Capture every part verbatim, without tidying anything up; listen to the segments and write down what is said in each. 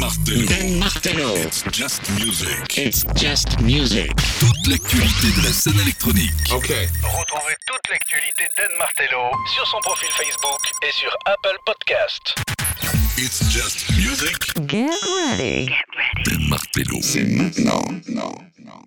Martello. Dan Martello. It's just music. It's just music. Toute l'actualité de la scène électronique. Ok. Retrouvez toute l'actualité Dan Martello sur son profil Facebook et sur Apple Podcast. It's just music. Get ready. Get ready. Dan Martello. C'est maintenant. Non, non.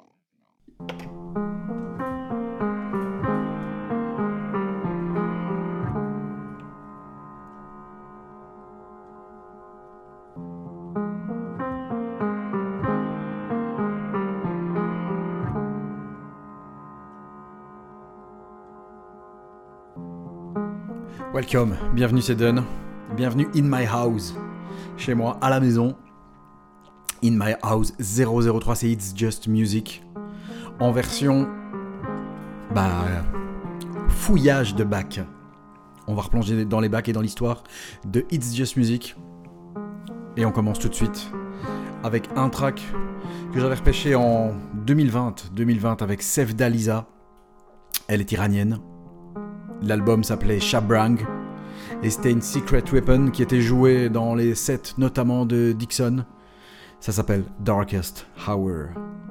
Welcome, bienvenue c'est Dun, bienvenue in my house, chez moi, à la maison. In my house zéro zéro trois, c'est It's Just Music, en version, bah, fouillage de bacs. On va replonger dans les bacs et dans l'histoire de It's Just Music. Et on commence tout de suite avec un track que j'avais repêché en deux mille vingt, deux mille vingt avec Sevda. Elle est iranienne. L'album s'appelait Shabrang et c'était une Secret Weapon qui était jouée dans les sets notamment de Dixon. Ça s'appelle Darkest Hour.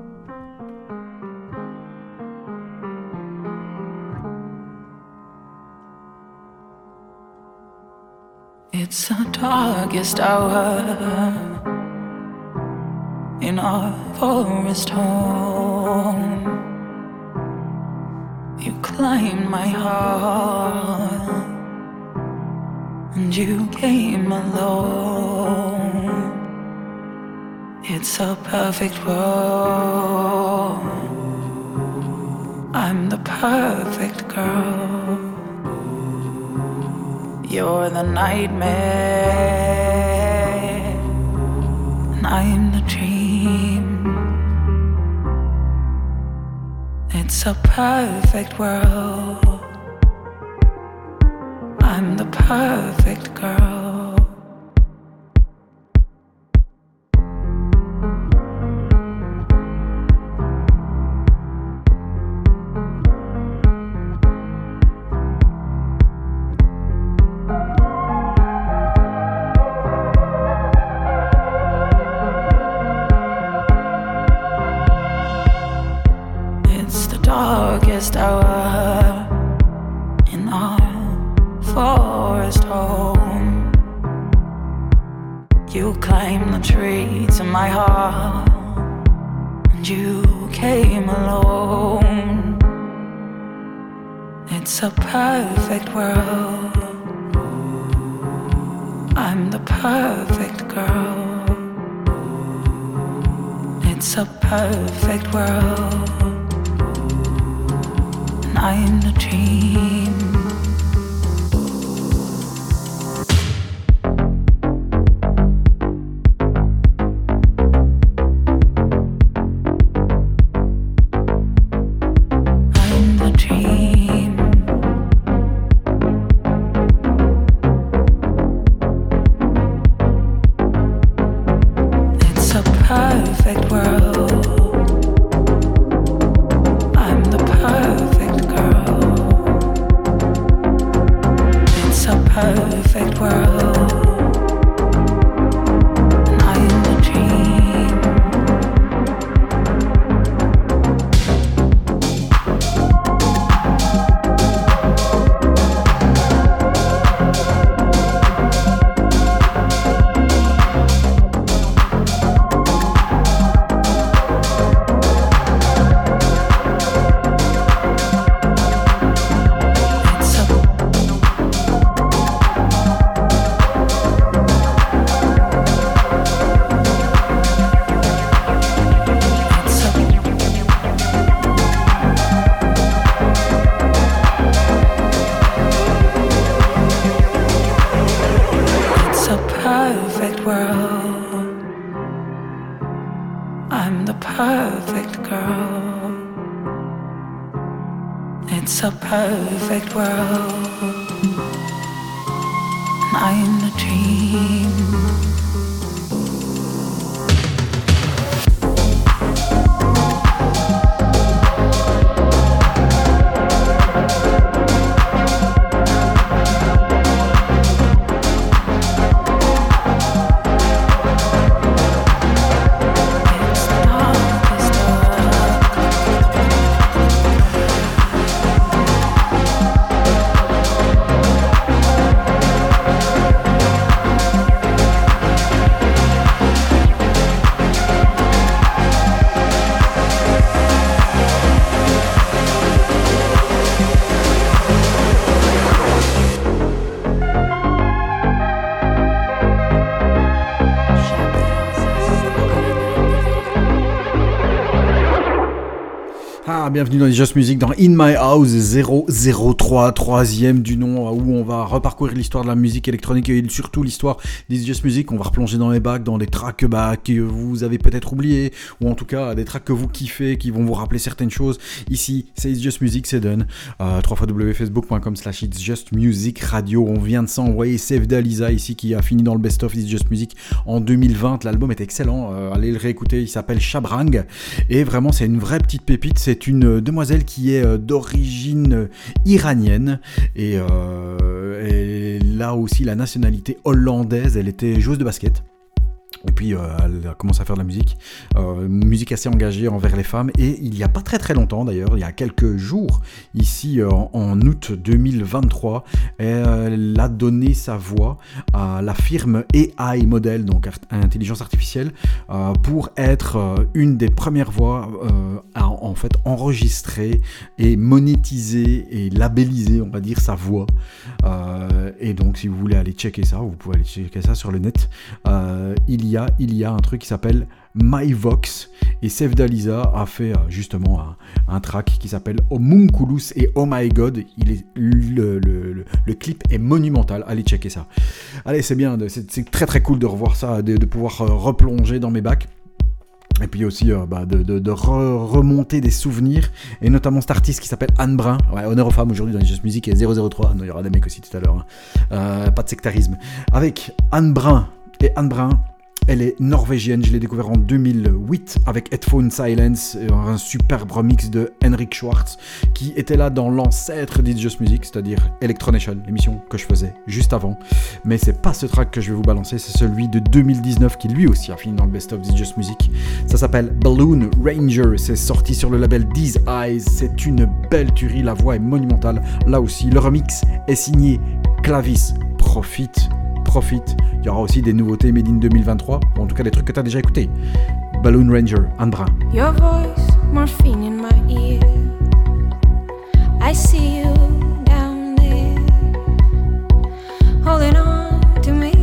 It's the darkest hour in our forest home. You climbed my heart and you came alone. It's a perfect world. I'm the perfect girl. You're the nightmare and I'm the dream. It's a perfect world. I'm the perfect girl. Darkest hour in our forest home. You climbed the tree to my heart and you came alone. It's a perfect world. I'm the perfect girl. It's a perfect world. I'm the dream. I'm the dream. It's a perfect world. I'm the perfect girl. It's a perfect world. And I'm the dream. Perfect world. I'm the perfect girl. It's a perfect world. And I'm the dream. bienvenue dans les Just Music, dans In My House zéro zéro trois, troisième du nom, où on va reparcourir l'histoire de la musique électronique et surtout l'histoire des Just Music. On va replonger dans les bacs, dans des tracks bah, que vous avez peut-être oubliés, ou en tout cas des tracks que vous kiffez, qui vont vous rappeler certaines choses. Ici, c'est It's Just Music, c'est done. Euh, w w w point facebook point com slash It's Just Music Radio. On vient de s'envoyer Save Dalisa ici, qui a fini dans le best-of It's Just Music en deux mille vingt. L'album est excellent, euh, allez le réécouter, il s'appelle Shabrang. Et vraiment, c'est une vraie petite pépite. C'est une demoiselle qui est d'origine iranienne et, euh, et là aussi la nationalité hollandaise. Elle était joueuse de basket. Et puis euh, elle a commencé à faire de la musique, euh, musique assez engagée envers les femmes. Et il n'y a pas très très longtemps d'ailleurs, il y a quelques jours, ici euh, en août deux mille vingt-trois, elle a donné sa voix à la firme A I Model, donc intelligence artificielle, euh, pour être euh, une des premières voix euh, à en fait enregistrer et monétiser et labelliser, on va dire, sa voix. Euh, et donc si vous voulez aller checker ça, vous pouvez aller checker ça sur le net. Euh, il y a Il y a un truc qui s'appelle MyVox et Save Dalisa a fait euh, justement un, un track qui s'appelle Homunculus et Oh My God. Il est, le, le, le, le clip est monumental, allez checker ça. Allez, c'est bien, c'est, c'est très très cool de revoir ça, de, de pouvoir euh, replonger dans mes bacs. Et puis aussi euh, bah, de, de, de re- remonter des souvenirs, et notamment cet artiste qui s'appelle Anne Brun. Ouais, honneur aux femmes aujourd'hui dans les Just Music, et zéro zéro trois, non, il y aura des mecs aussi tout à l'heure, hein. euh, pas de sectarisme. Avec Anne Brun, et Anne Brun, elle est norvégienne, je l'ai découvert en deux mille huit avec Headphone Silence, un superbe remix de Henrik Schwartz qui était là dans l'ancêtre d'It's Just Music, c'est-à-dire Electronation, l'émission que je faisais juste avant. Mais c'est pas ce track que je vais vous balancer, c'est celui de deux mille dix-neuf qui lui aussi a fini dans le best of d'It's Just Music. Ça s'appelle Balloon Ranger, c'est sorti sur le label These Eyes, c'est une belle tuerie, la voix est monumentale. Là aussi, le remix est signé Clavis. Profite. Profite, il y aura aussi des nouveautés Made in deux mille vingt-trois, ou en tout cas des trucs que tu as déjà écoutés. Balloon Ranger, Anne Brun. Your voice, morphine in my ear. I see you down there, holding on to me.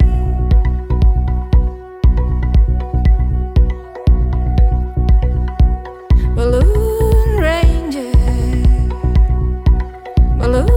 Balloon Ranger, Balloon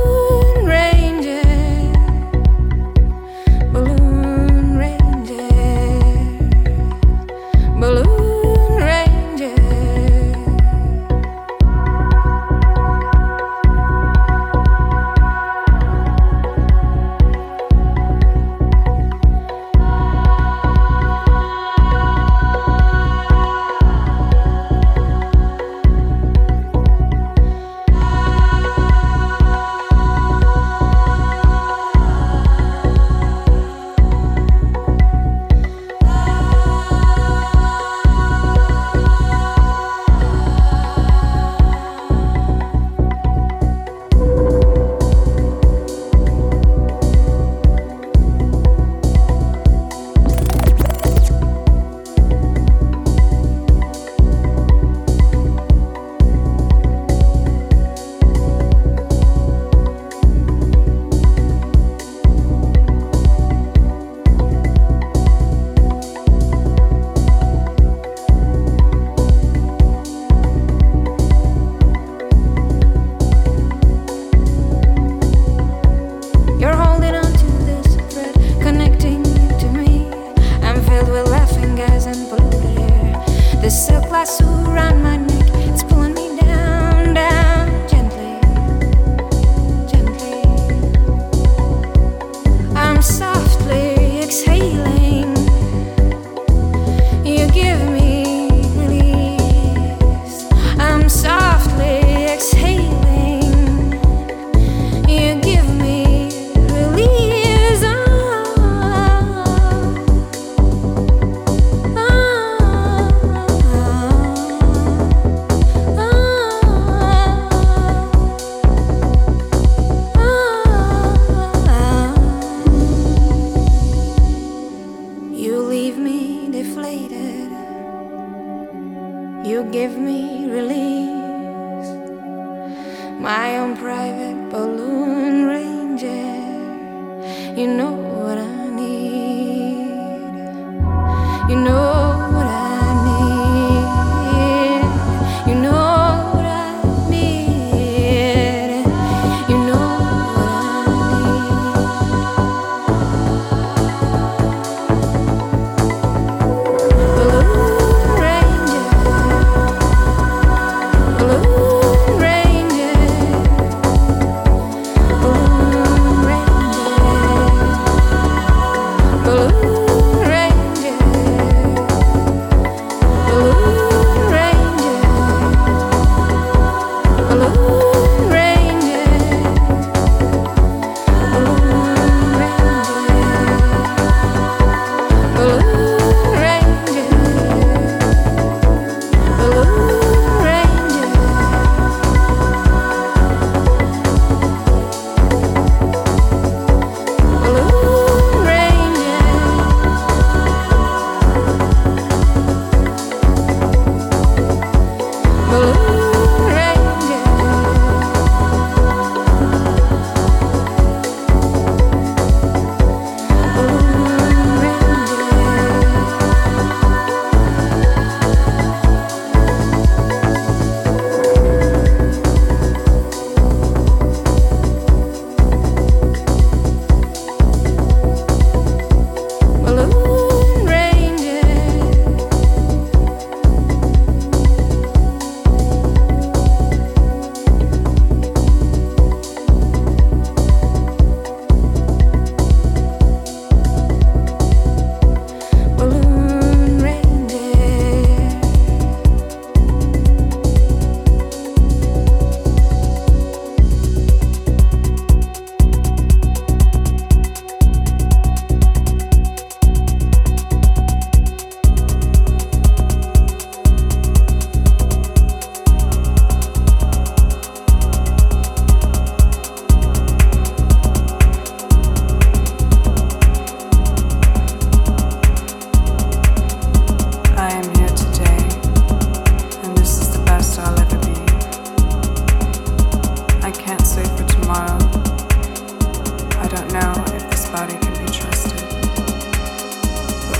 You know what I need. You know what I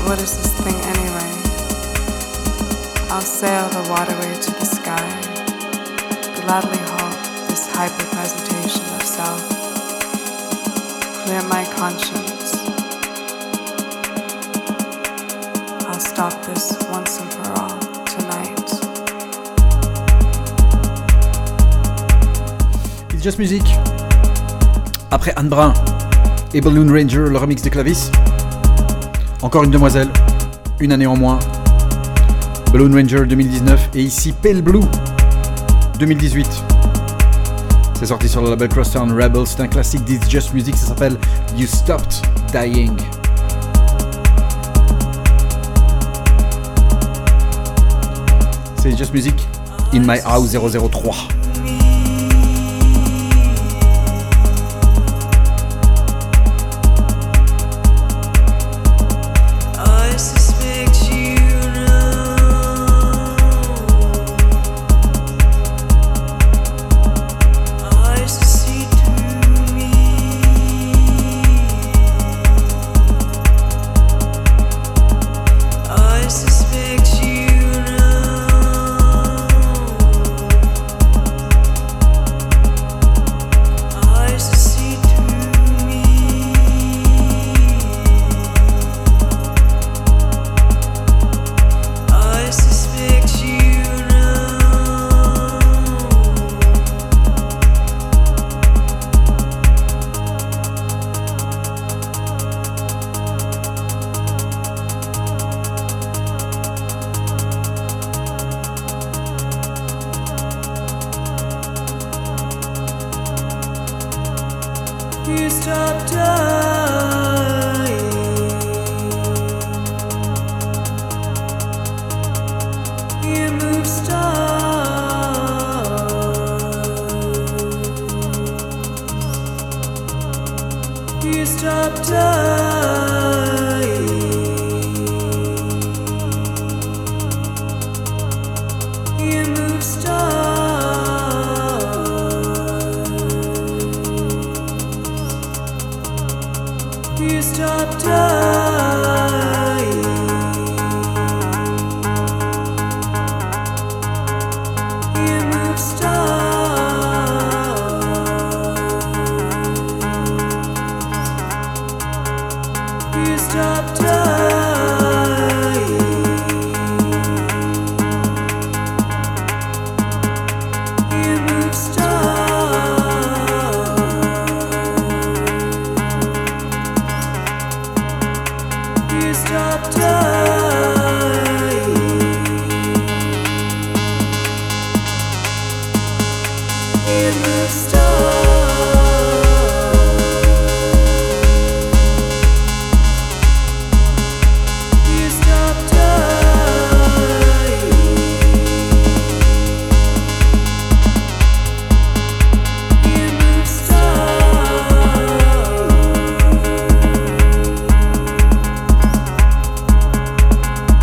what is this thing anyway? I'll sail the waterway to the sky, gladly halt this hyper-presentation of self, clear my conscience. I'll stop this once and for all tonight. It's Just Music. Après Anne Brun et Balloon Ranger, le remix de Clavis. Encore une demoiselle, une année en moins. Balloon Ranger deux mille dix-neuf et ici Pale Blue deux mille dix-huit. C'est sorti sur le label Crosstown Rebels, c'est un classique d'It's Just Music, ça s'appelle You Stopped Dying. C'est Just Music, In My House zéro zéro trois. You stop dying. You move stars. You stop dying. You move stars. You stop dying. You move stars. You stop dying. You move stars. You stop dying. You move stars. You stop dying. You move stars.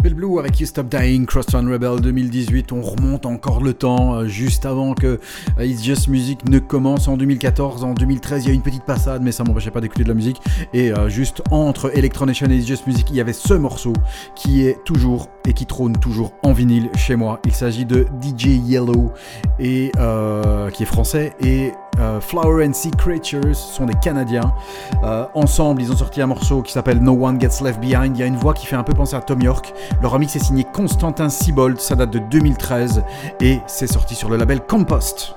Pale Blue avec You Stop Dying, Crosstown Rebel deux mille dix-huit. On remonte encore le temps, euh, juste avant que euh, It's Just Music ne commence en deux mille quatorze. En deux mille treize, il y a une petite passade, mais ça m'empêchait pas d'écouter de la musique. Et euh, juste entre Electronation et It's Just Music, il y avait ce morceau qui est toujours et qui trône toujours en vinyle chez moi. Il s'agit de D J Yellow, et, euh, qui est français, et euh, Flower and Sea Creatures sont des Canadiens. Euh, ensemble, ils ont sorti un morceau qui s'appelle No One Gets Left Behind. Il y a une voix qui fait un peu penser à Tom York. Le remix est signé Constantin Siebold, ça date de deux mille treize et c'est sorti sur le label Compost.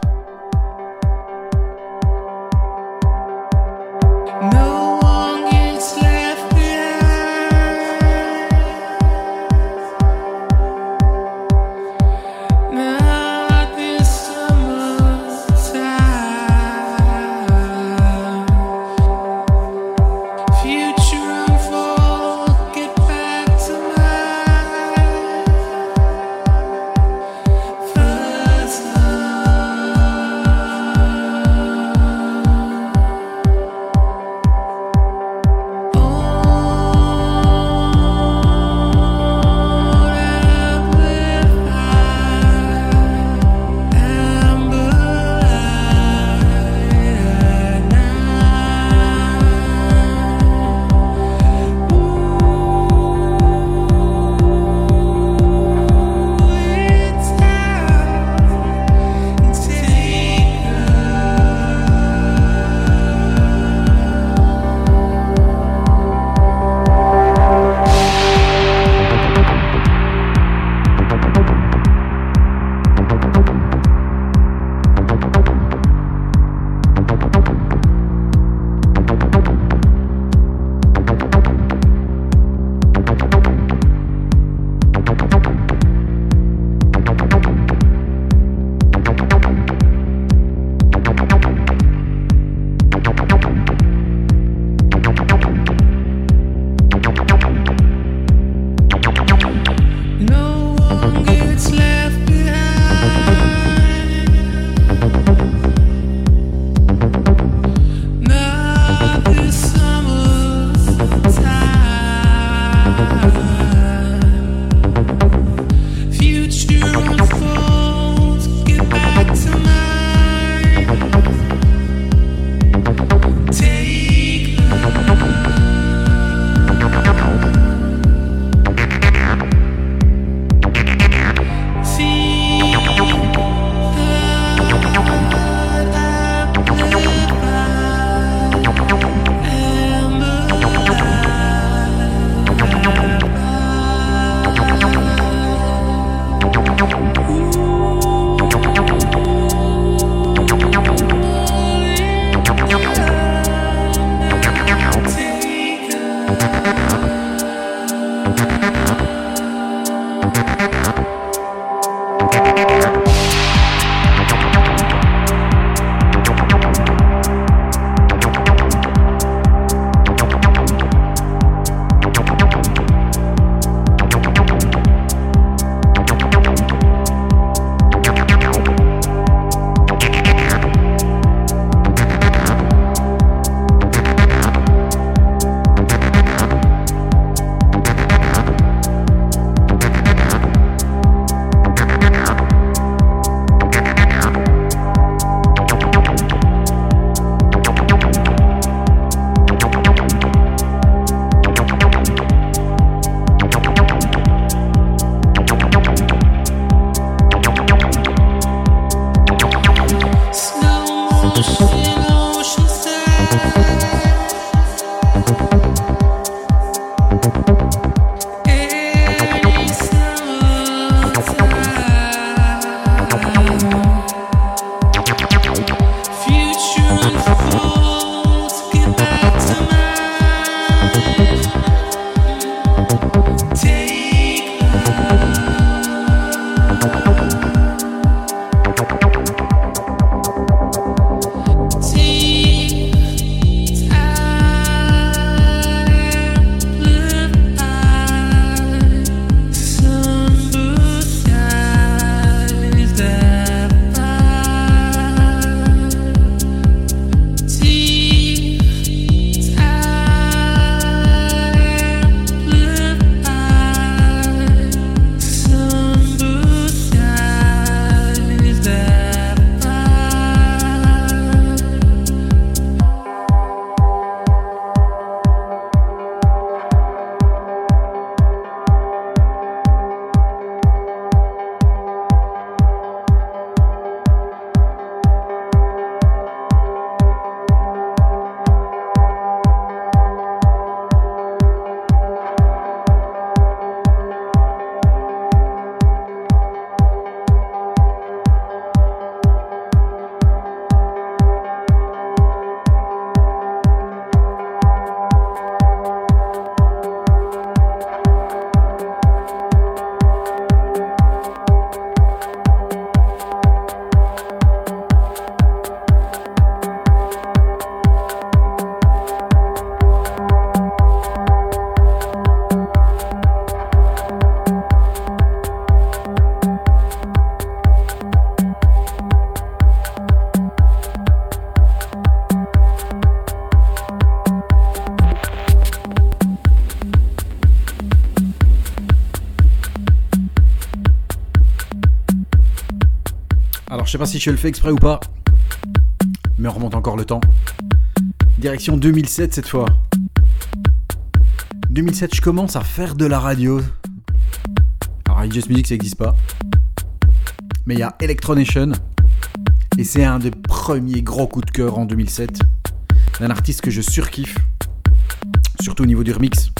Alors je sais pas si je le fais exprès ou pas, mais on remonte encore le temps. Direction deux mille sept cette fois. deux mille sept, je commence à faire de la radio. Alors Just Music ça n'existe pas. Mais il y a Electronation. Et c'est un des premiers gros coups de cœur en deux mille sept. D'un artiste que je surkiffe. Surtout au niveau du remix.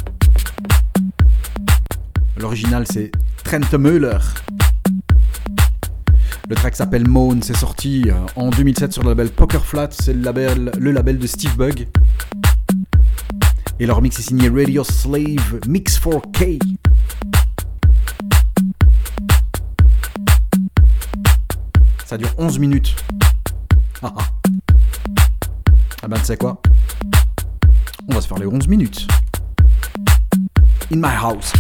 L'original c'est Trent Müller. Le track s'appelle Moan, c'est sorti en deux mille sept sur le label Poker Flat, c'est le label, le label de Steve Bug. Et leur mix est signé Radio Slave Mix four K. Ça dure onze minutes. Ah ah. Ah ben tu sais quoi? On va se faire les onze minutes. In my house.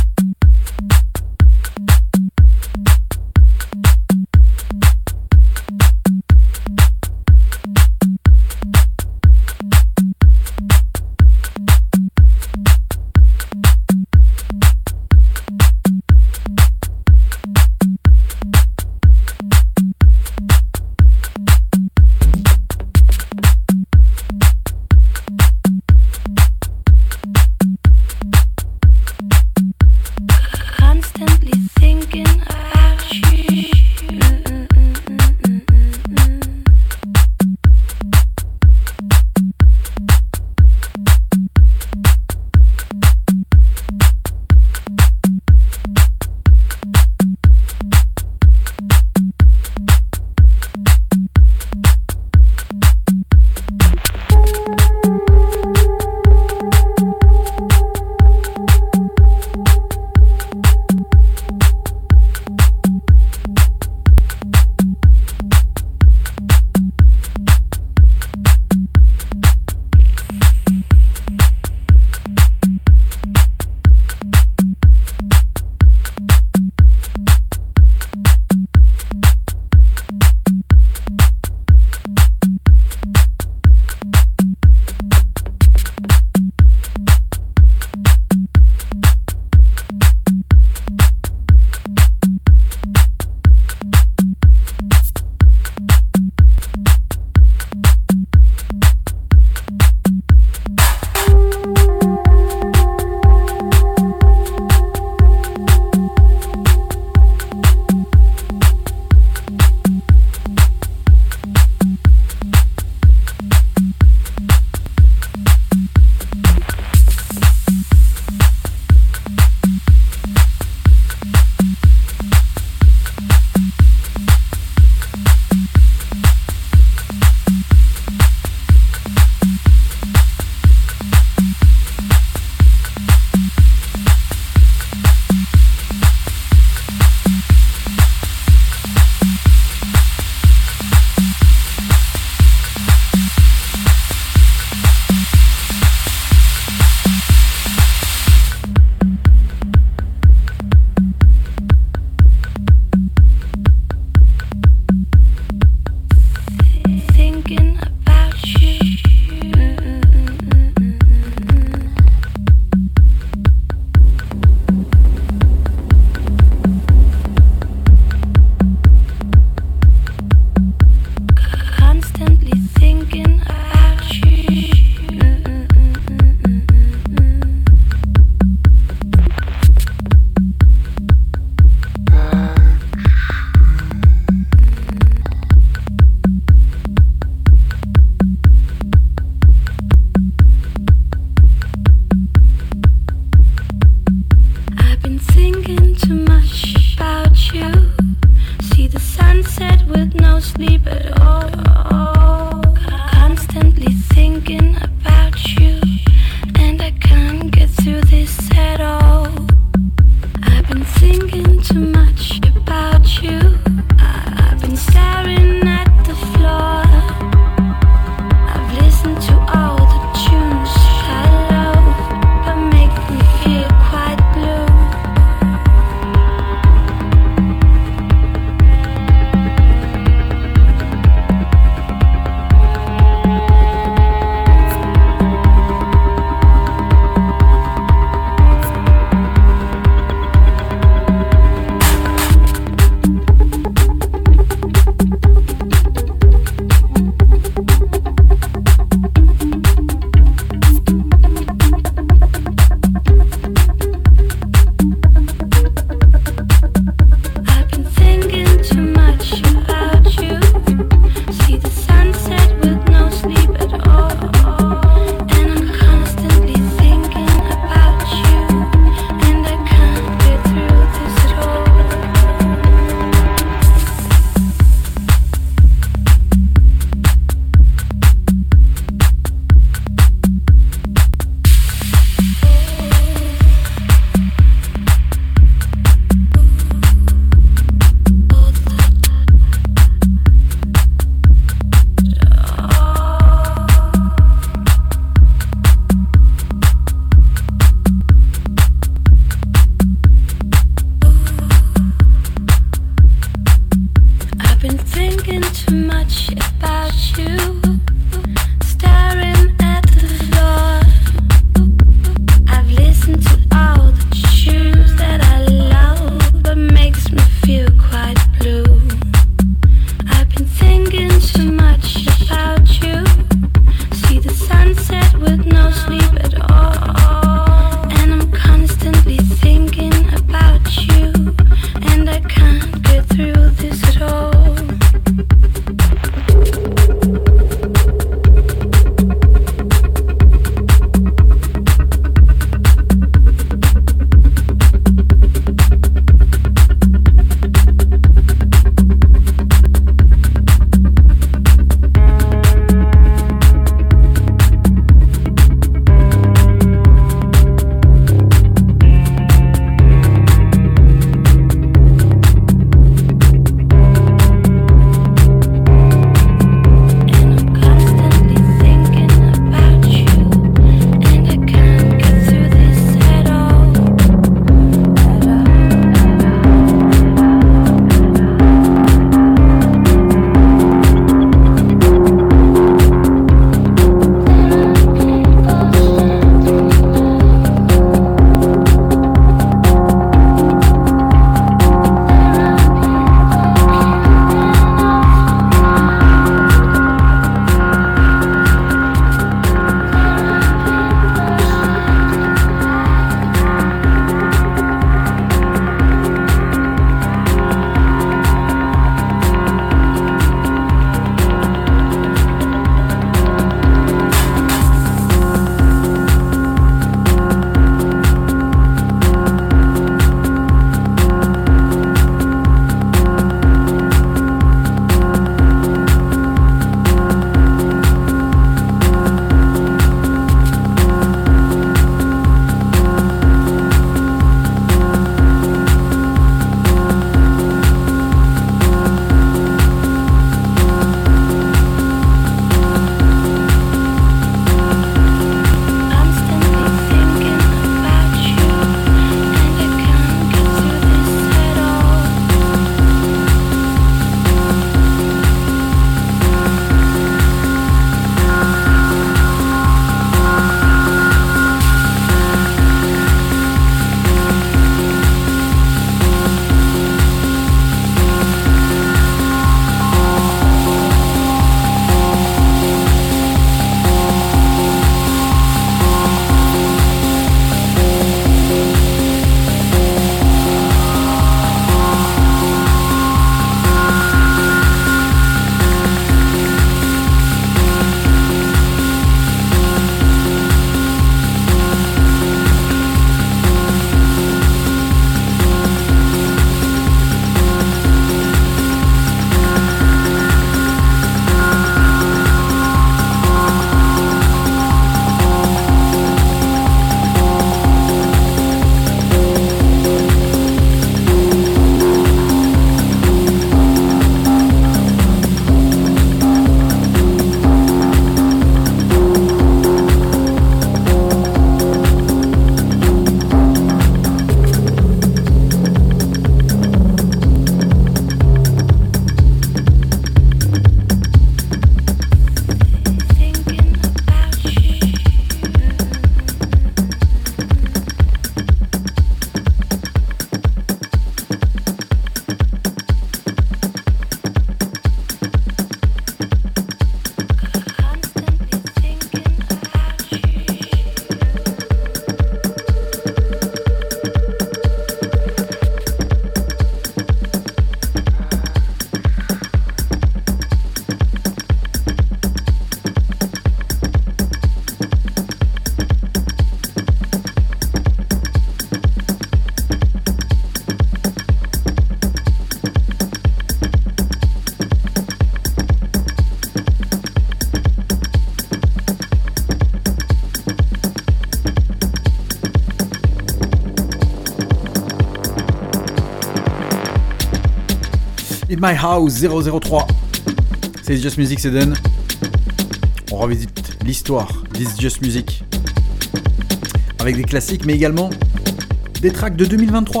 In My House zéro zéro trois. C'est It's Just Music, c'est Dan. On revisite l'histoire d'It's Just Music avec des classiques, mais également des tracks de deux mille vingt-trois.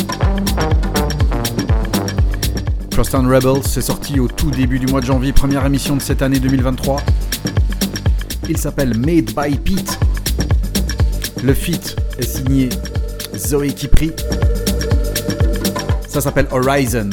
Crosstown Rebels, c'est sorti au tout début du mois de janvier, première émission de cette année deux mille vingt-trois. Il s'appelle Made by Pete. Le feat est signé Zoé Kipri. Ça s'appelle Horizon.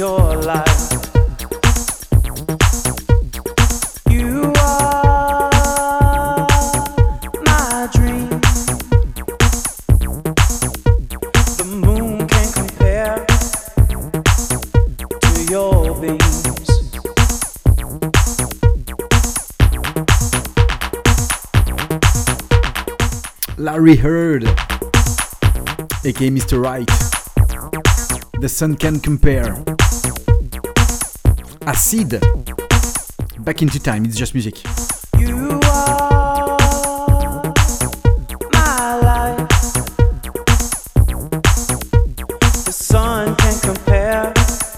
your light. You are my dream. The moon can't compare to your beams. Larry Heard, aka Mister Right. The sun can compare. Acid. Back into time, it's just music. You are my life. The sun can compare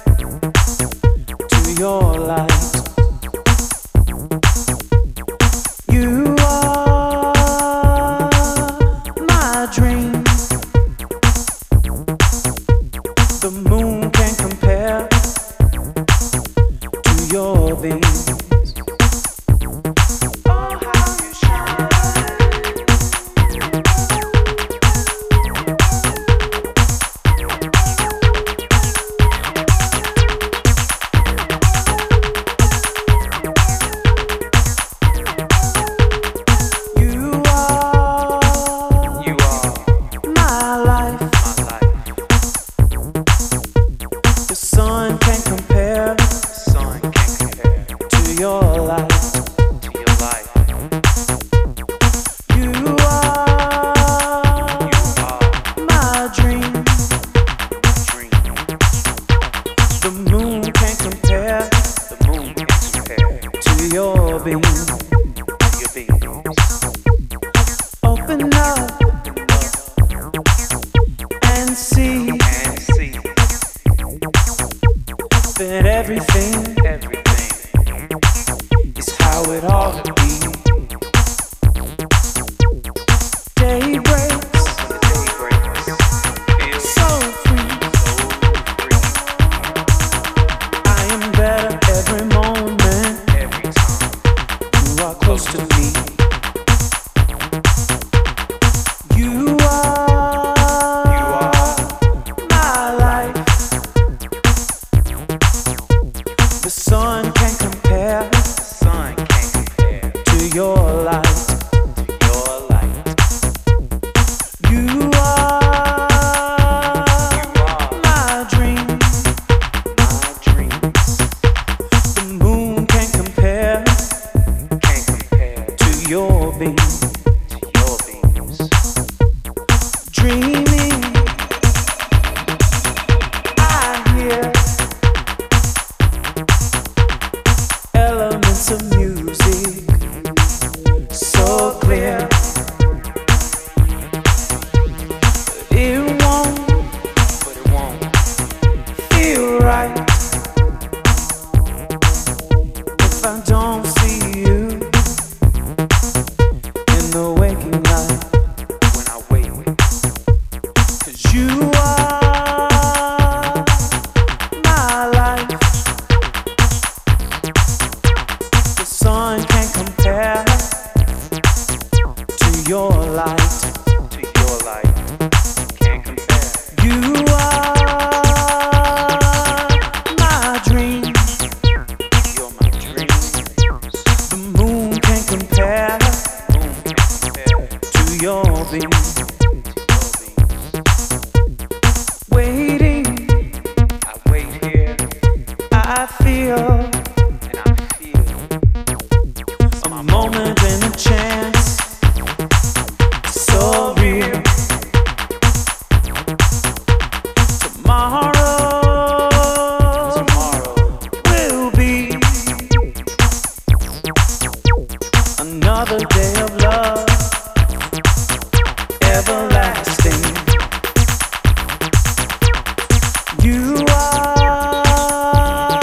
to your light. You are my dream. The moon can compare to your beams.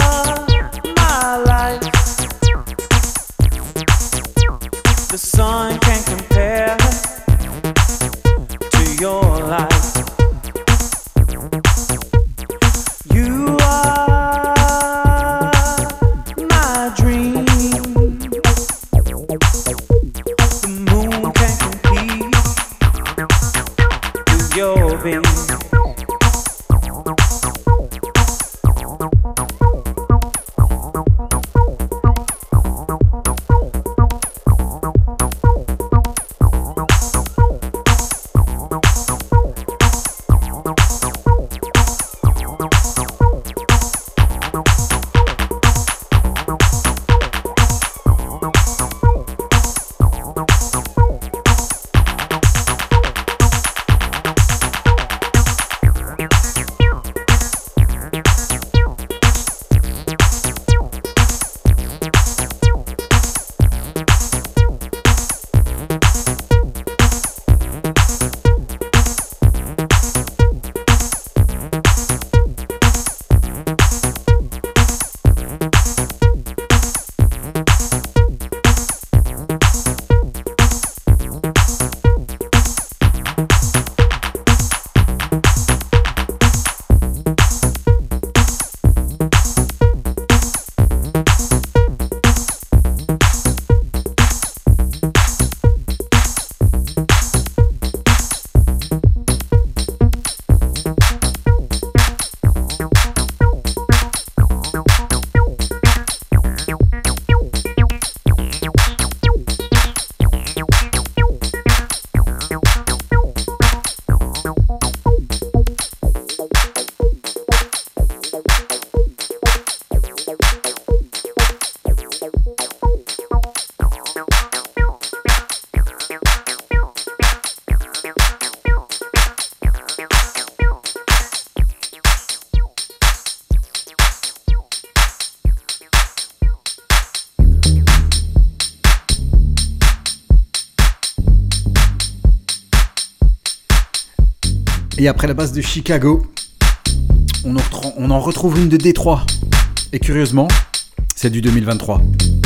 The sun Et après la base de Chicago, on en, retrouve, on en retrouve une de Détroit. Et curieusement, c'est du deux mille vingt-trois.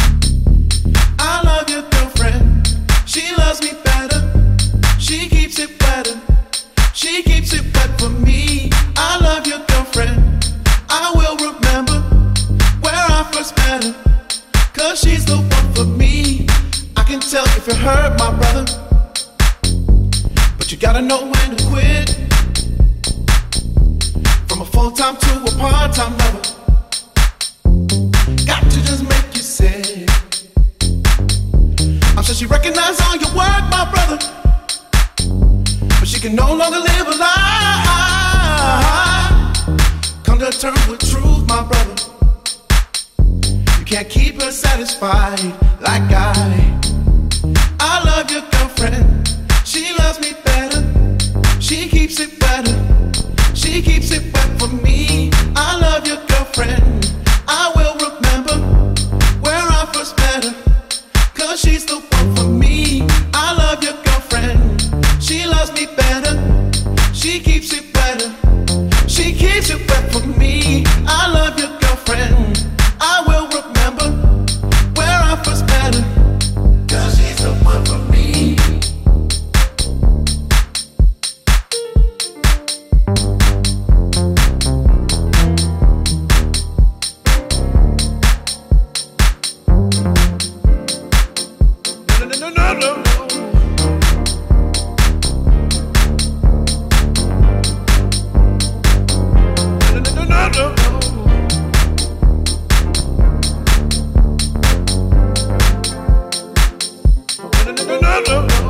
I love your girlfriend. She loves me better. She keeps it better. She keeps it wet for me. I love your girlfriend. I will remember where I first met her. Cause she's the one for me. I can tell if you hurt my brother. But you gotta know when to quit. From a full-time to a part-time lover. Got to just make you sick. I'm sure she recognizes all your work, my brother. But she can no longer live a lie. Come to terms with truth, my brother. You can't keep her satisfied like I. I love your girlfriend. She loves me better. She keeps it better. She keeps it wet for me. I love your girlfriend. I will remember where I first met her. Cause she's the one for me. I love your girlfriend. She loves me better. She keeps it better. She keeps it wet for me. I love your girlfriend. I will remember where I first met her. Cause she's the one for me. No, no, no, no, no. No, no, no, no, no. No, no, no, no, no, no.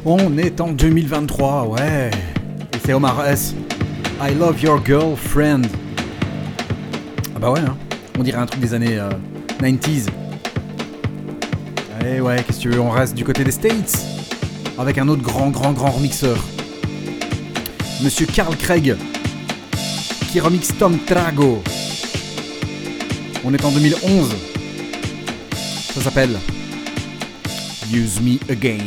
On est en deux mille vingt-trois, ouais. Et c'est Omar S. I love your girlfriend. Ah bah ouais, hein. On dirait un truc des années euh, quatre-vingt-dix. Eh ouais, qu'est-ce que tu veux, on reste du côté des States. Avec un autre grand, grand, grand remixeur. Monsieur Carl Craig. Qui remixe Tom Trago. On est en deux mille onze. Ça s'appelle Use Me Again.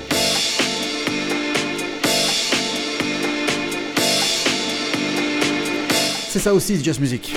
C'est ça aussi, c'est Just Music.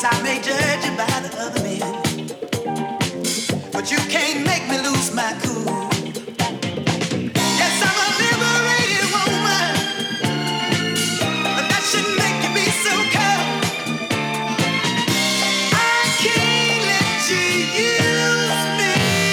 I may judge you by the other men, but you can't make me lose my cool. Yes, I'm a liberated woman, but that shouldn't make you be so cold. I can't let you use me.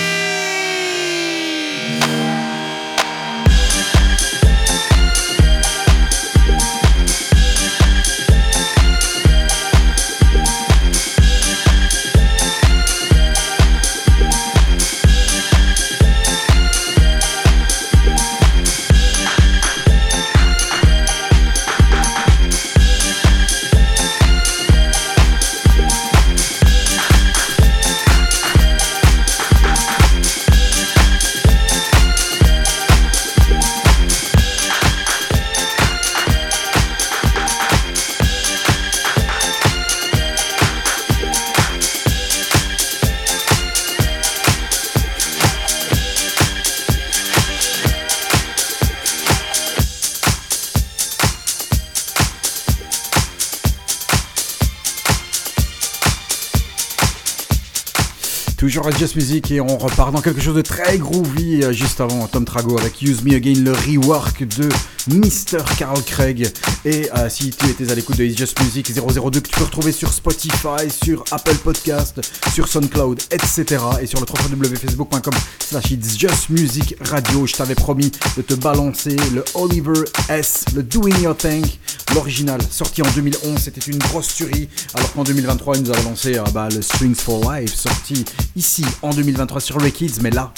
Toujours à Just Music et on repart dans quelque chose de très groovy. Juste avant, Tom Trago avec Use Me Again, le rework de mister Carl Craig. Et euh, si tu étais à l'écoute de It's Just Music zéro zéro deux, que tu peux retrouver sur Spotify, sur Apple Podcast, sur SoundCloud, et cetera. Et sur le w w w point facebook point com slash It's Just Music Radio. Je t'avais promis de te balancer le Oliver S, le Doing Your Thing. L'original, sorti en deux mille onze, c'était une grosse tuerie. Alors qu'en deux mille vingt-trois, il nous avait lancé euh, bah, le Strings for Life, sorti ici en deux mille vingt-trois sur Ray Kids, mais là,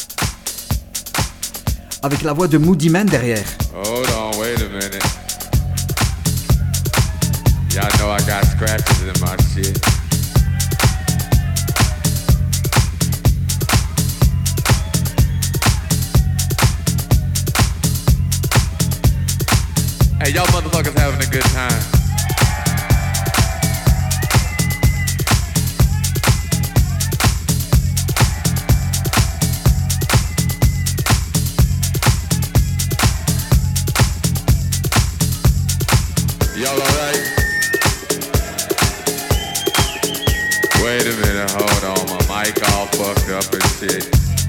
avec la voix de Moody Man derrière. Hold on, wait a minute. Y'all know I got scratches in my shit. Hey, y'all motherfuckers having a good time. Y'all alright? Wait a minute, hold on, my mic all fucked up and shit.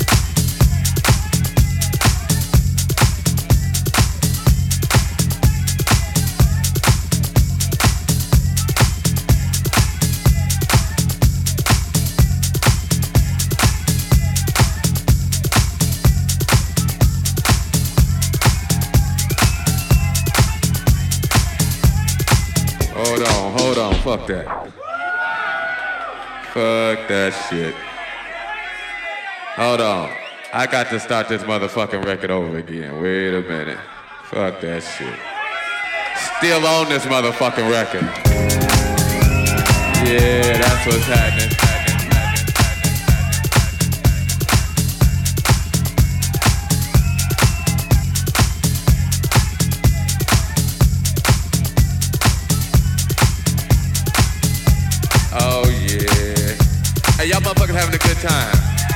Hold on, hold on, fuck that. Fuck that shit. Hold on. I got to start this motherfucking record over again. Wait a minute. Fuck that shit. Still on this motherfucking record. Yeah, that's what's happening. Oh yeah. Hey, y'all motherfuckers having a good time.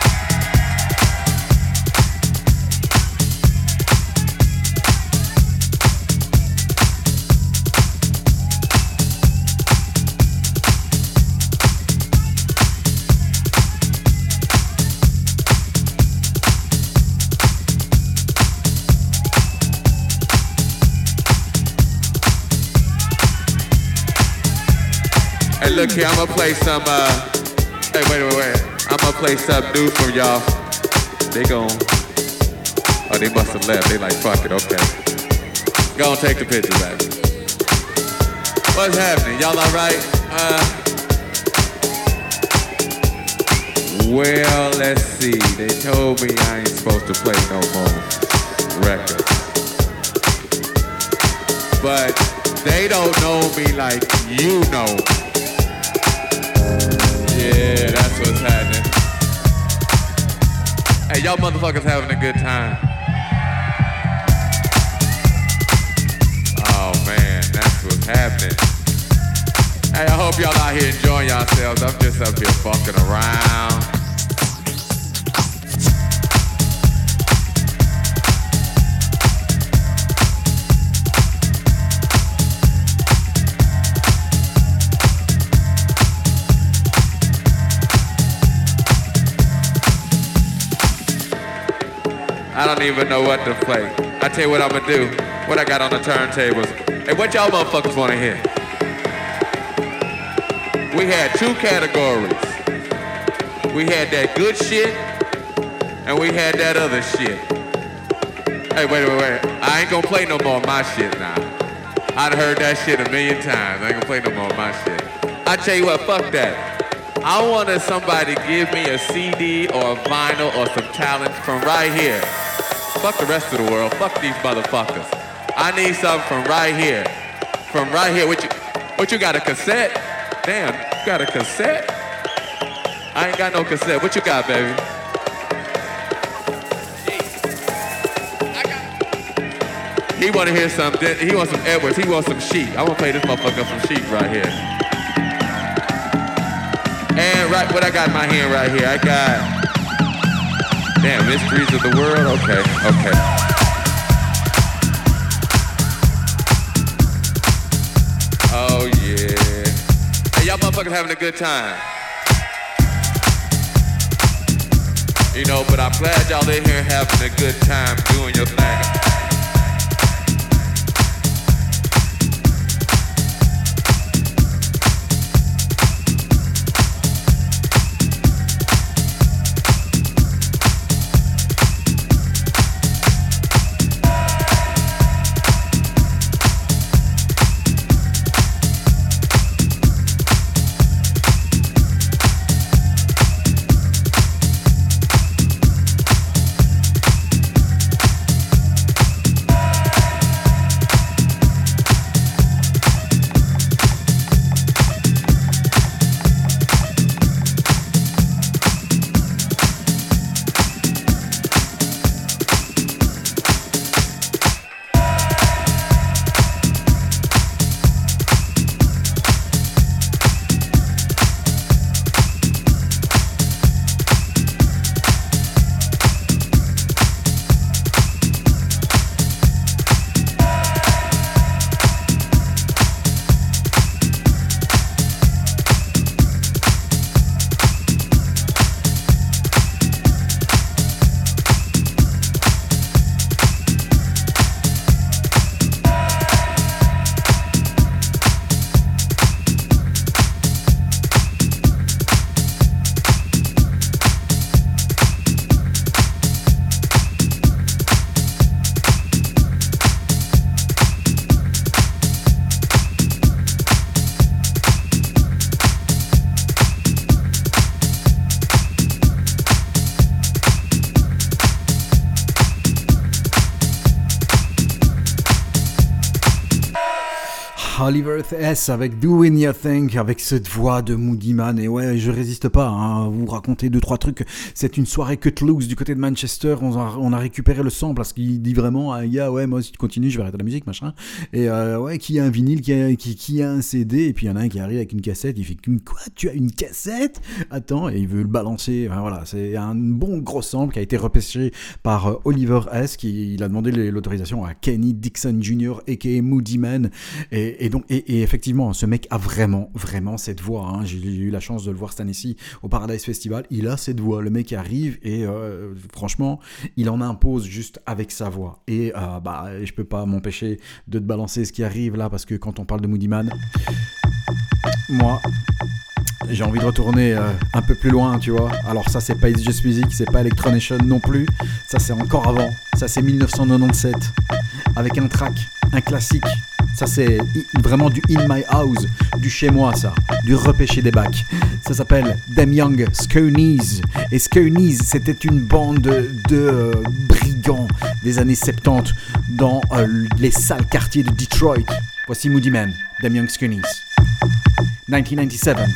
Hey, look here, I'm gonna play some, uh, hey, wait, wait, wait. I'm gonna play something new from y'all. They gon', oh, they must have left. They like, fuck it, okay. Go on, take the picture back. What's happening? Y'all alright? Uh, well, let's see. They told me I ain't supposed to play no more records. But they don't know me like you know me. Yeah, that's what's happening. Hey, y'all motherfuckers having a good time. Oh man, that's what's happening. Hey, I hope y'all out here enjoying yourselves. I'm just up here fucking around. don't even know what to play. I tell you what I'm gonna do. What I got on the turntables. Hey, what y'all motherfuckers wanna hear? We had two categories. We had that good shit, and we had that other shit. Hey, wait, wait, wait. I ain't gonna play no more of my shit now. I'd heard that shit a million times. I ain't gonna play no more of my shit. I tell you what, fuck that. I wanted somebody to give me a C D or a vinyl or some talent from right here. Fuck the rest of the world. Fuck these motherfuckers. I need something from right here. From right here. What you, what you got, a cassette? Damn, you got a cassette? I ain't got no cassette. What you got, baby? He wanna hear some, he wants some Edwards, he wants some Sheep. I wanna play this motherfucker some Sheep right here. And right, what I got in my hand right here, I got, damn, Mysteries of the World, okay, okay. Oh yeah. Hey, y'all motherfuckers having a good time. You know, but I'm glad y'all in here having a good time doing your thing. Oliver S avec Doing Your Thing, avec cette voix de Moody Man. Et ouais, je résiste pas hein, à vous raconter deux trois trucs. C'est une soirée cut loose du côté de Manchester. On a, on a récupéré le sample parce qu'il dit vraiment à un gars, ouais, moi si tu continues, je vais arrêter la musique, machin. Et euh, ouais, qui a un vinyle, qui a, qui, qui a un C D, et puis il y en a un qui arrive avec une cassette. Il fait quoi, tu as une cassette? Attends, et il veut le balancer. Enfin, voilà, c'est un bon gros sample qui a été repêché par euh, Oliver S. Qui il a demandé l'autorisation à Kenny Dixon junior aka Moody Man. Et, et donc Et, et effectivement, ce mec a vraiment, vraiment cette voix. Hein. J'ai eu la chance de le voir cette année-ci au Paradise Festival. Il a cette voix. Le mec arrive et euh, franchement, il en impose juste avec sa voix. Et euh, bah, je peux pas m'empêcher de te balancer ce qui arrive là parce que quand on parle de Moody Man, moi, j'ai envie de retourner euh, un peu plus loin, tu vois. Alors ça, c'est pas It's Just Music, c'est pas Electronation non plus. Ça, c'est encore avant. Ça, c'est dix-neuf cent quatre-vingt-dix-sept avec un track, un classique. Ça c'est vraiment du In My House, du chez moi ça, du repêché des bacs. Ça s'appelle Them Young Skonies. Et Skonies, c'était une bande de, de euh, brigands des années soixante-dix dans euh, les sales quartiers de Detroit. Voici Moody Man, Them Young Skonies. dix-neuf cent quatre-vingt-dix-sept.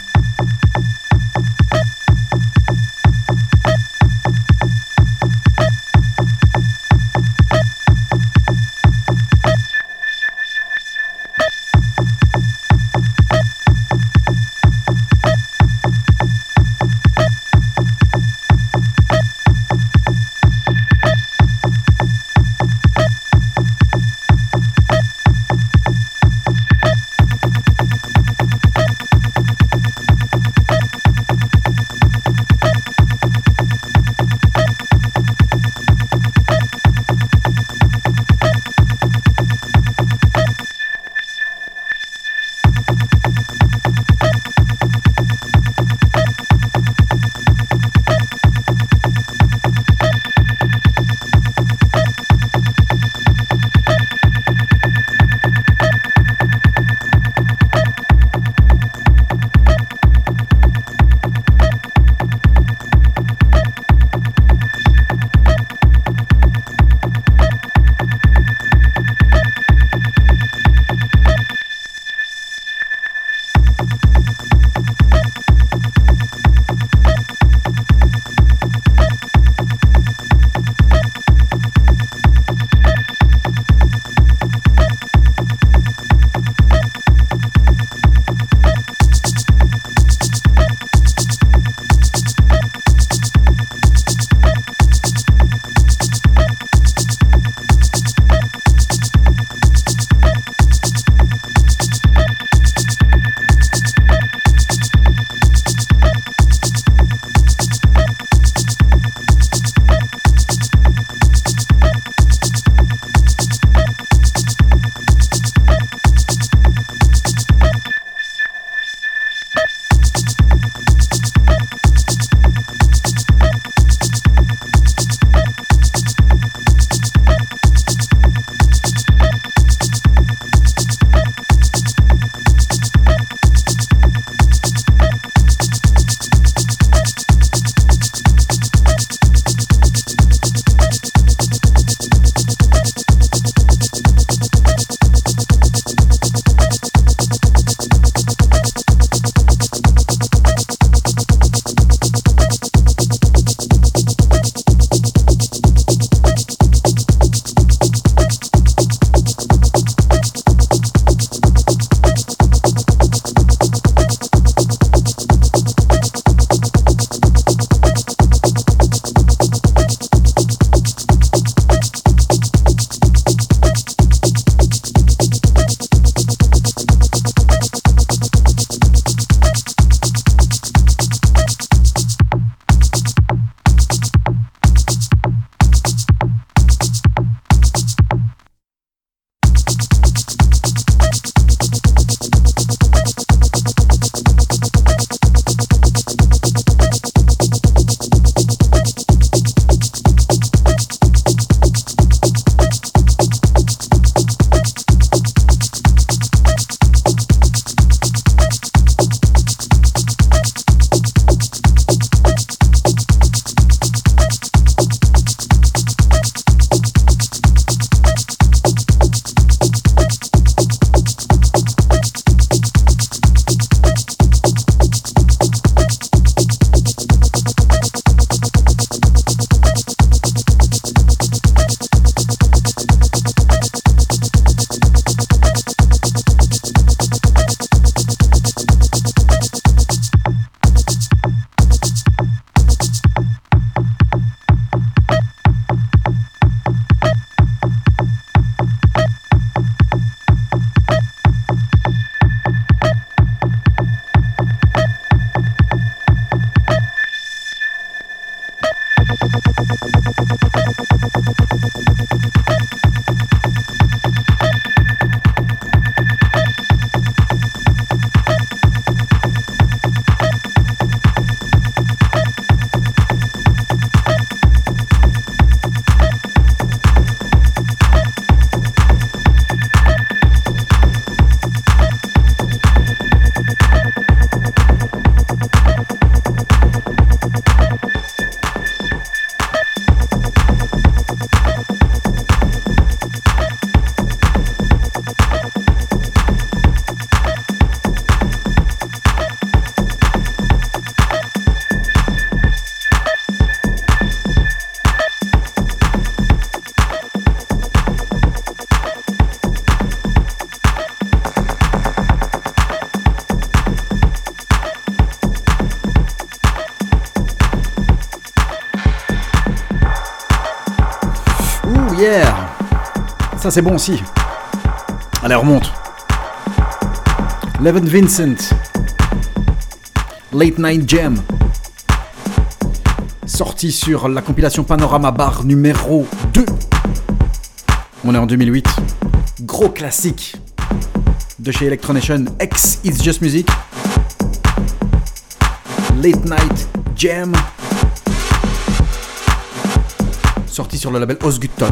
c'est bon aussi. Allez, on remonte. Leven Vincent. Late Night Jam. Sorti sur la compilation Panorama Bar numéro deux. On est en deux mille huit. Gros classique de chez Electronation, ex It's Just Music. Late Night Jam. Sorti sur le label Osgutton.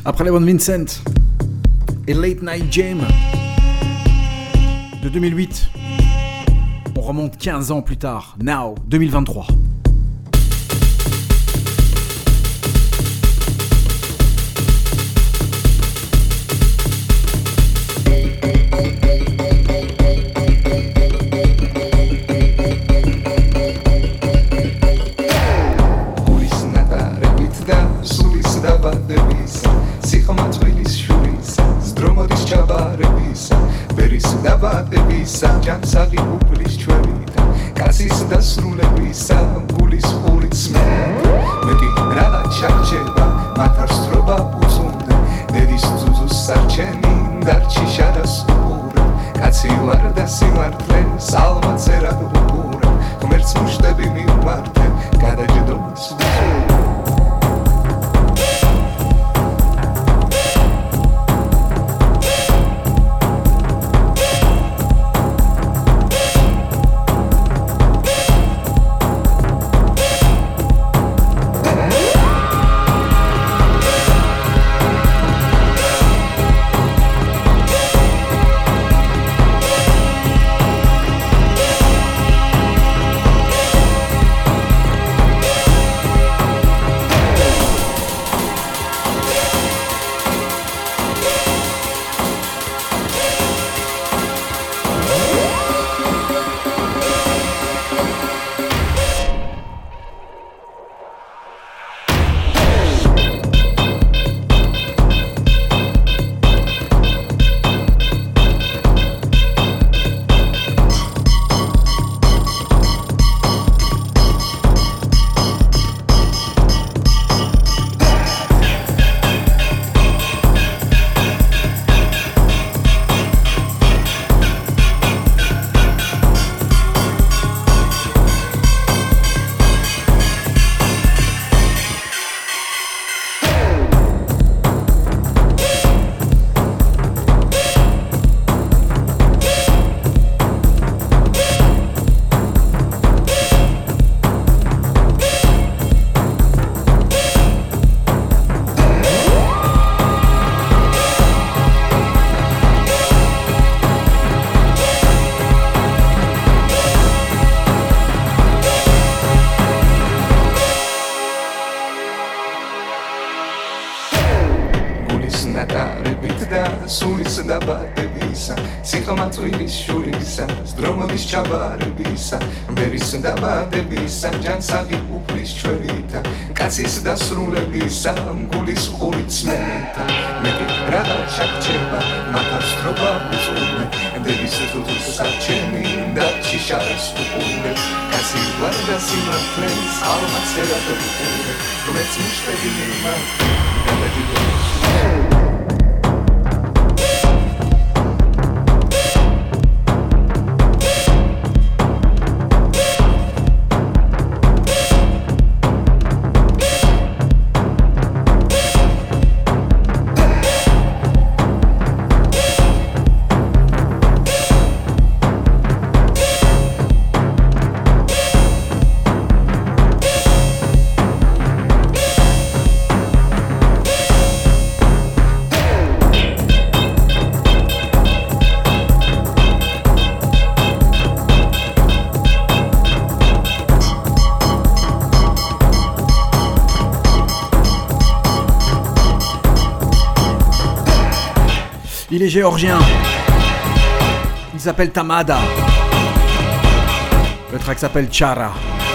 Après Levon Vincent et Late Night Jam de deux mille huit, on remonte quinze ans plus tard, now, deux mille vingt-trois. ჯანსაღი უფლის ჩვენითა კაცის დასრულებისა გულის ხურიცმე მეტი რადა ჩარჩება მათარსტრობა უწუნდე დედის ძუძუს სარჩენი დარჩი შადას უყურე კაცი ვარ და სიმართლე სალმა წერად უყურე ღმერთს მუშტები მივმართე გადაჯდომას დაბადებისა ჯანსაღი უფლის ჩვენითა კაცის დასრულებისა გულის ხურიცმეთა მეტი რადა ჩარჩება მათარსტრობა უწუნდე დედის ძუძუს სარჩენი დარჩი შადას უყურე კაცი ვარ და სიმართლე სალმა წერად უყურე ღმერთს მუშტები მივმართე გადაჯდომას Il est géorgien. Il s'appelle Tamada. Le track s'appelle Chara.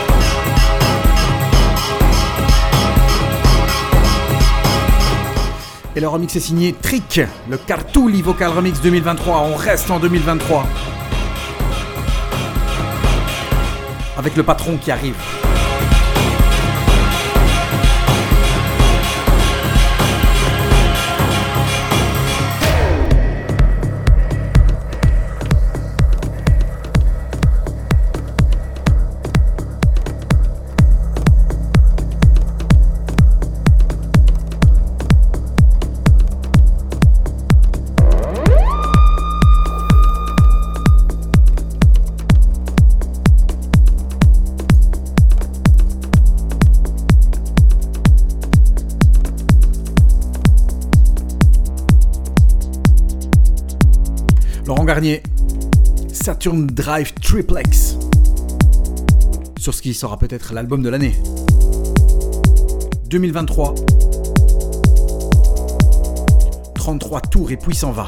Et le remix est signé Trick, le Cartouli Vocal Remix deux mille vingt-trois. On reste en deux mille vingt-trois. Avec le patron qui arrive. Laurent Garnier, Saturn Drive Triplex, sur ce qui sera peut-être l'album de l'année deux mille vingt-trois. trente-trois tours et puis s'en va.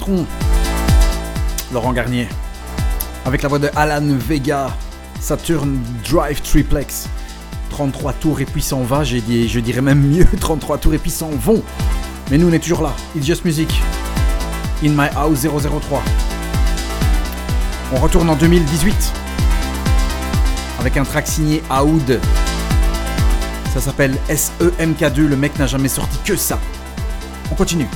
patron, Laurent Garnier, avec la voix de Alan Vega, Saturn Drive Triplex. trente-trois tours et puis s'en va, j'ai dit, je dirais même mieux, trente-trois tours et puis s'en vont. Mais nous on est toujours là, It's Just Music, In My House zéro zéro trois. On retourne en deux mille dix-huit avec un track signé Aoud. Ça s'appelle S E M K deux, le mec n'a jamais sorti que ça. On continue.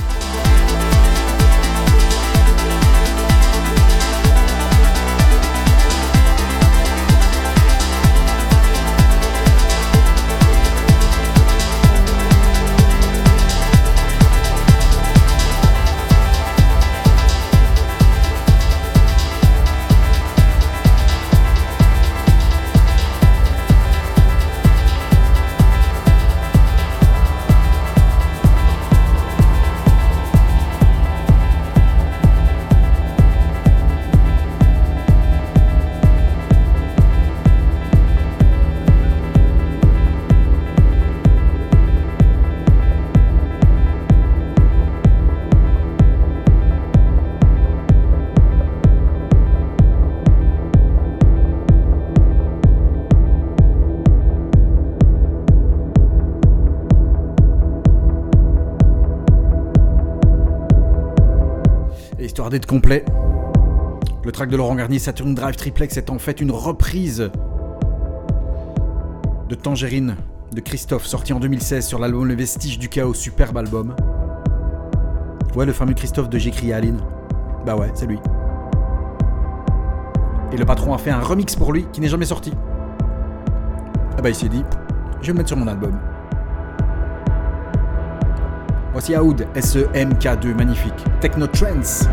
D'être complet, le track de Laurent Garnier, Saturn Drive Triplex, est en fait une reprise de Tangerine de Christophe, sorti en deux mille seize sur l'album Le Vestige du Chaos, superbe album. Ouais, le fameux Christophe de J'écris à Aline. Bah ouais, c'est lui. Et le patron a fait un remix pour lui qui n'est jamais sorti. Ah bah il s'est dit, je vais le mettre sur mon album. Voici Aoud, S E M K deux, magnifique. Techno Trance.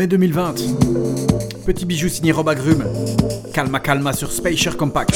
mai deux mille vingt. Petit bijou signé Rob Agrum. Calma Calma sur Spacer Compact.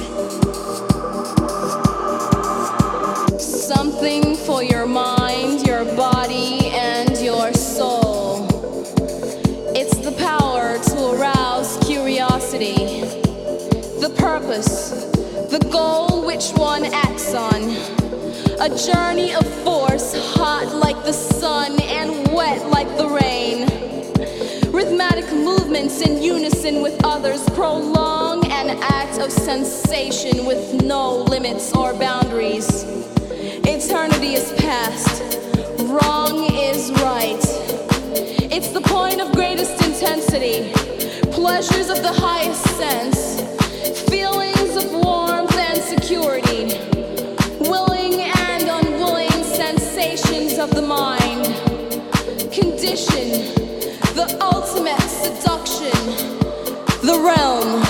Something for your mind, your body, and your soul. It's the power to arouse curiosity. The purpose, the goal which one acts on. A journey of force, hot like the sun and wet like the rain. Rhythmic movements in unison with others prolong an act of sensation with no limits or boundaries. Eternity is past, wrong is right. It's the point of greatest intensity, pleasures of the highest sense, feelings of warmth and security, willing and unwilling sensations of the mind, condition, the ultimate seduction, the realm.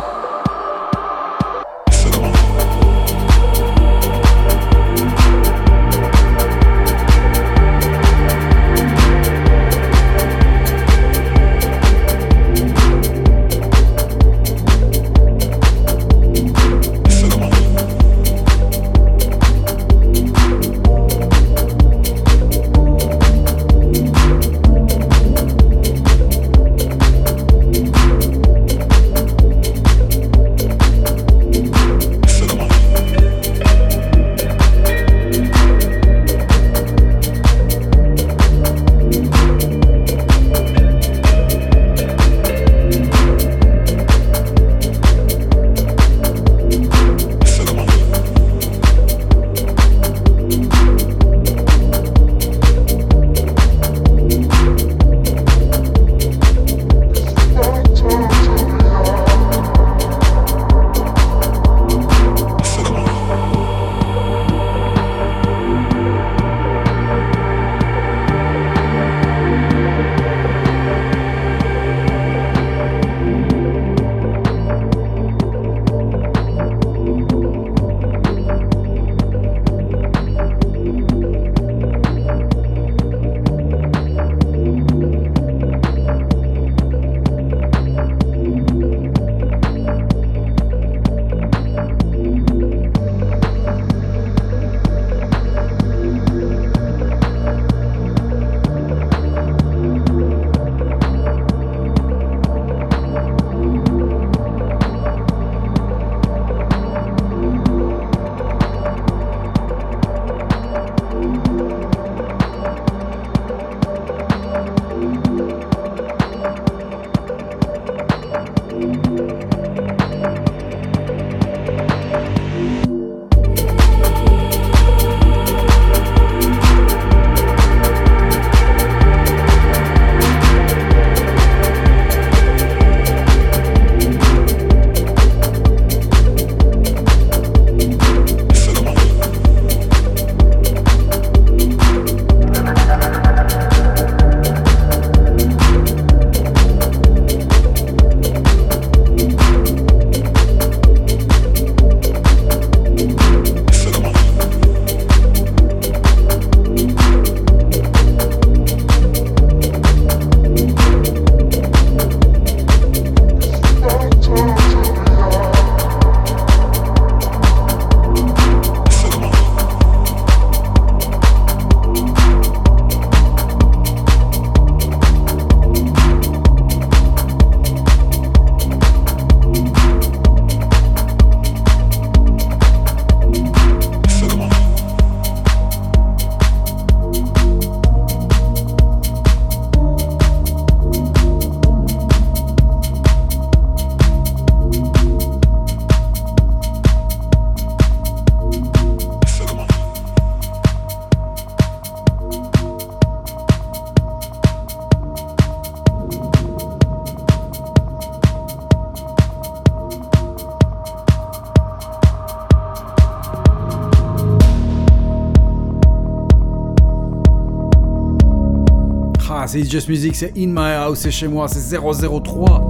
c'est It's Just Music, c'est In My House, c'est chez moi, c'est zéro zéro trois.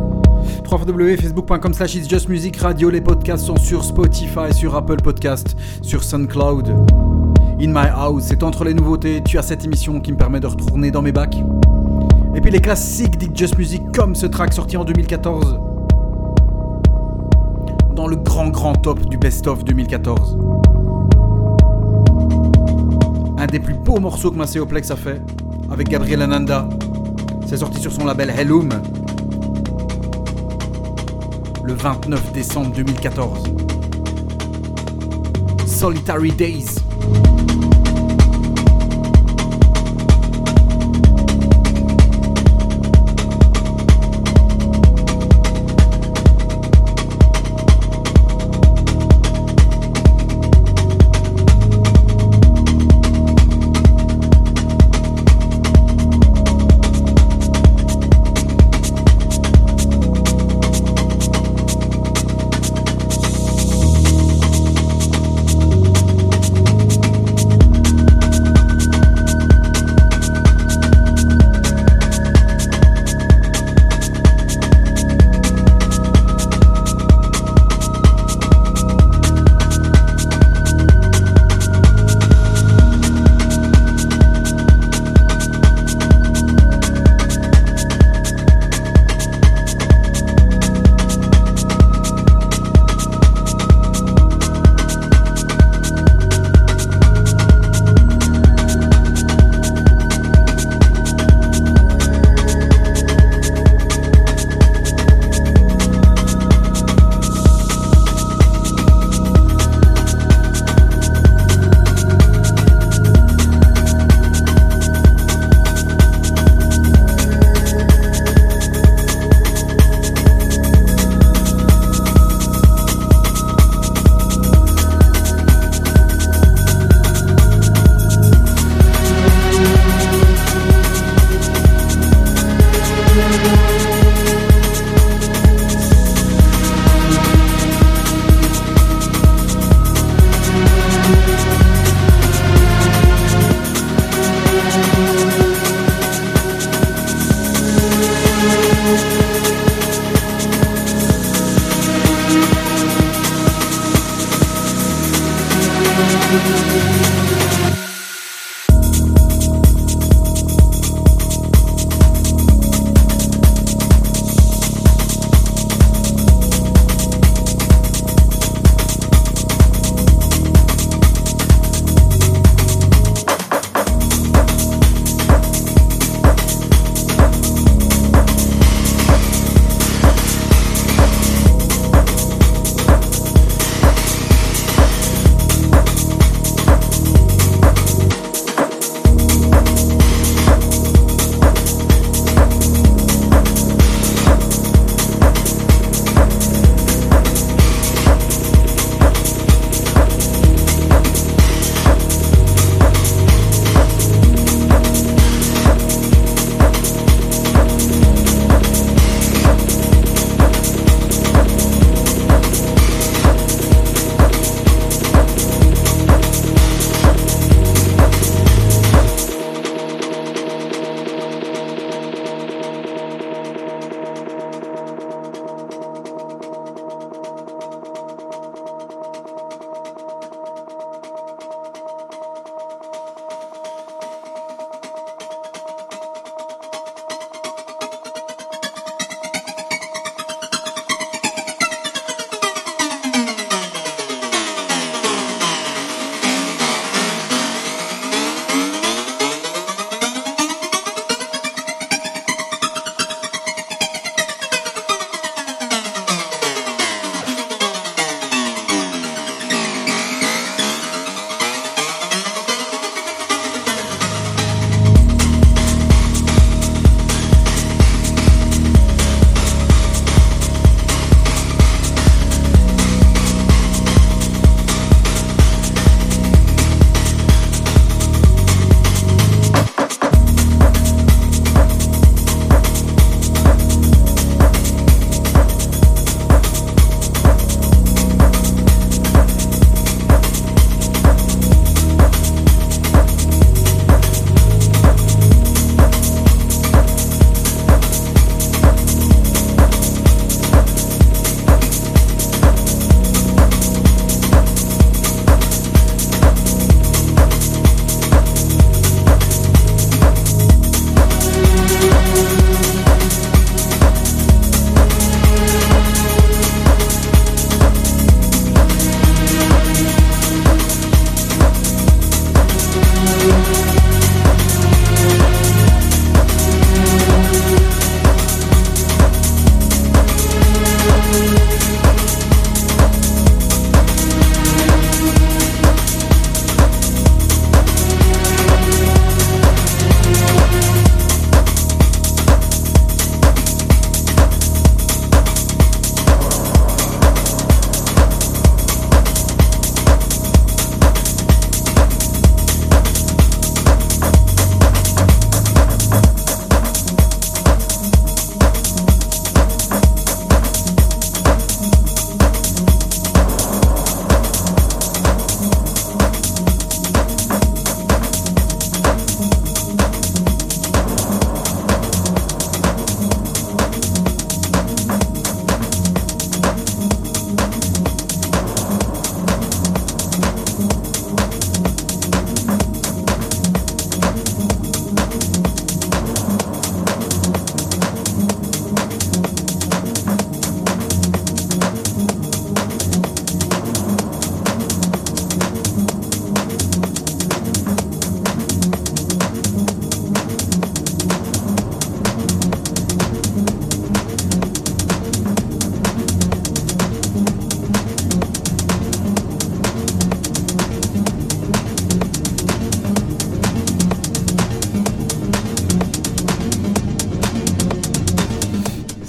w w w point facebook point com slash It's Just Music Radio. Les podcasts sont sur Spotify, sur Apple Podcast, sur SoundCloud. In My House, c'est entre les nouveautés. Tu as cette émission qui me permet de retourner dans mes bacs. Et puis les classiques d'It Just Music comme ce track sorti en deux mille quatorze. Dans le grand grand top du best-of deux mille quatorze. Un des plus beaux morceaux que Macéoplex a fait avec Gabriel Ananda. C'est sorti sur son label Hellum le vingt-neuf décembre deux mille quatorze. Solitary Days.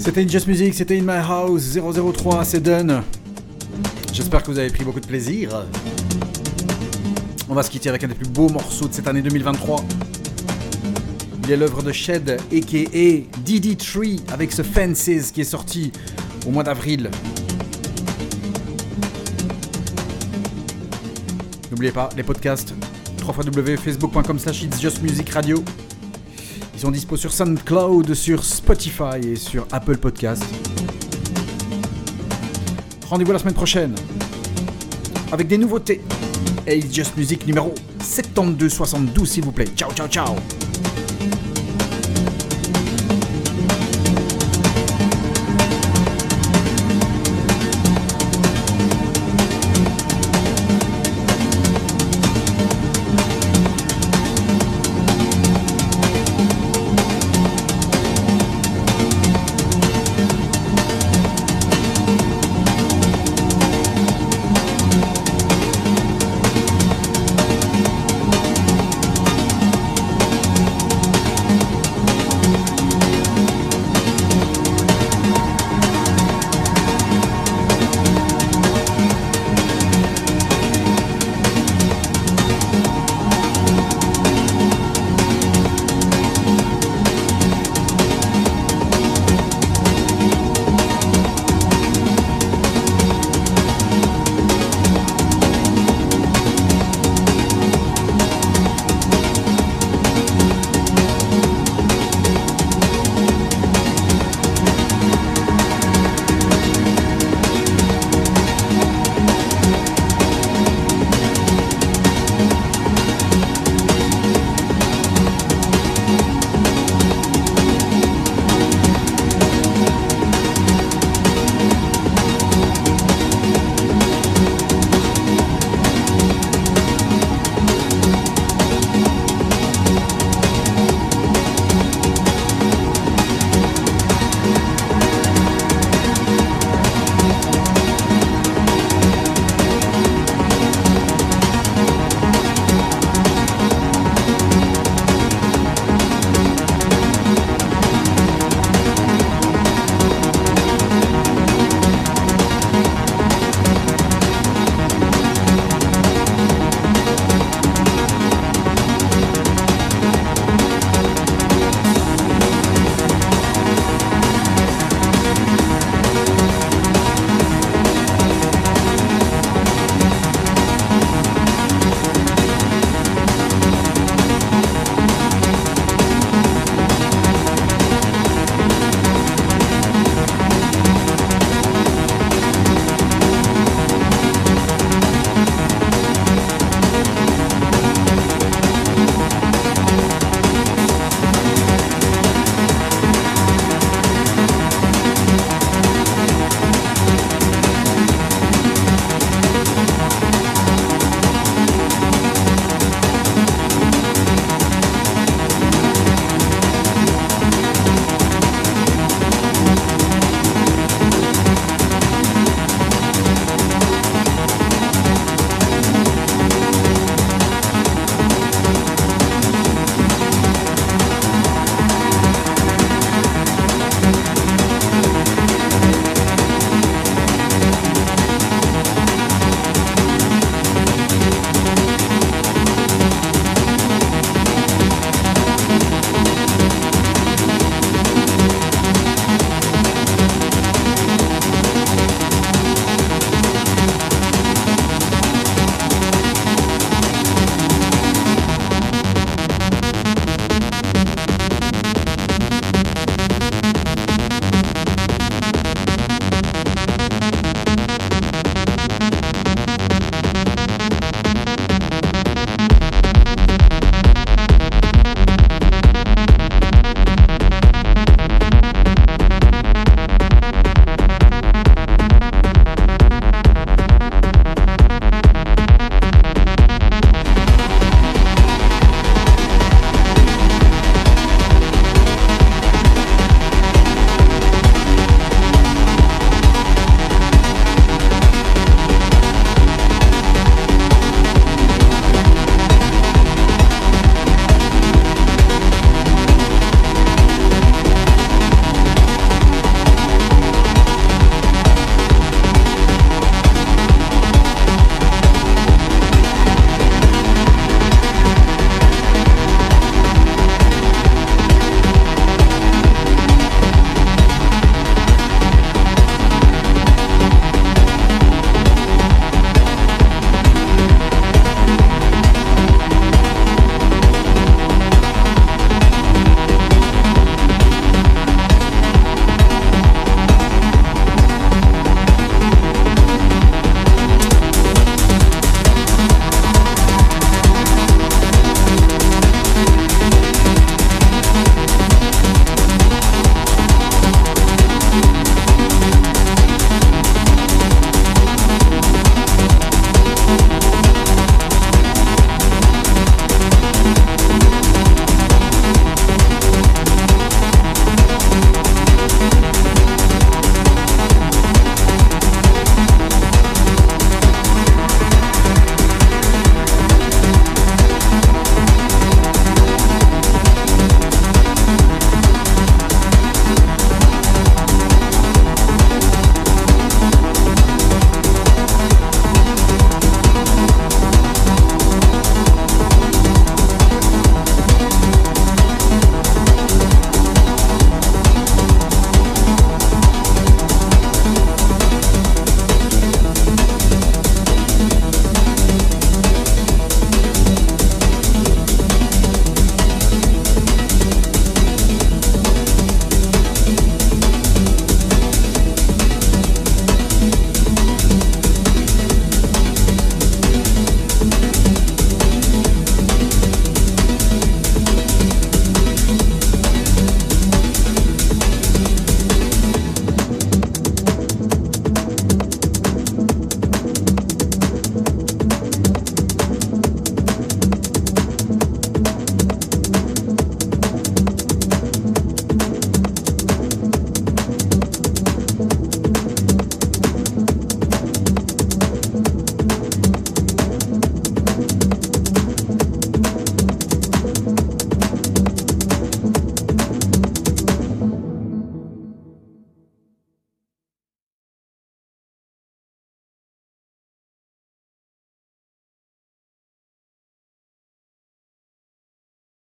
C'était Just Music, c'était In My House zéro zéro trois, c'est done. J'espère que vous avez pris beaucoup de plaisir. On va se quitter avec un des plus beaux morceaux de cette année deux mille vingt-trois. Il est l'œuvre de Shed, aka D D trois, avec ce Fences qui est sorti au mois d'avril. N'oubliez pas, les podcasts, w w w point facebook point com slash it's just music radio. Ils sont dispo sur SoundCloud, sur Spotify et sur Apple Podcast. Rendez-vous la semaine prochaine avec des nouveautés. Et It's Just Music numéro soixante-douze soixante-douze s'il vous plaît. Ciao, ciao, ciao.